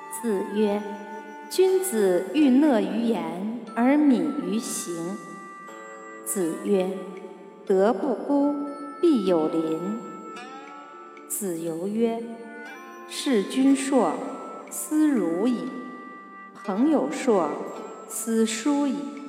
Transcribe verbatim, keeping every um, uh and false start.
子曰：君子欲讷于言而敏于行。子曰：德不孤，必有邻。子游曰：事君硕，斯辱矣；朋友硕，斯疏矣。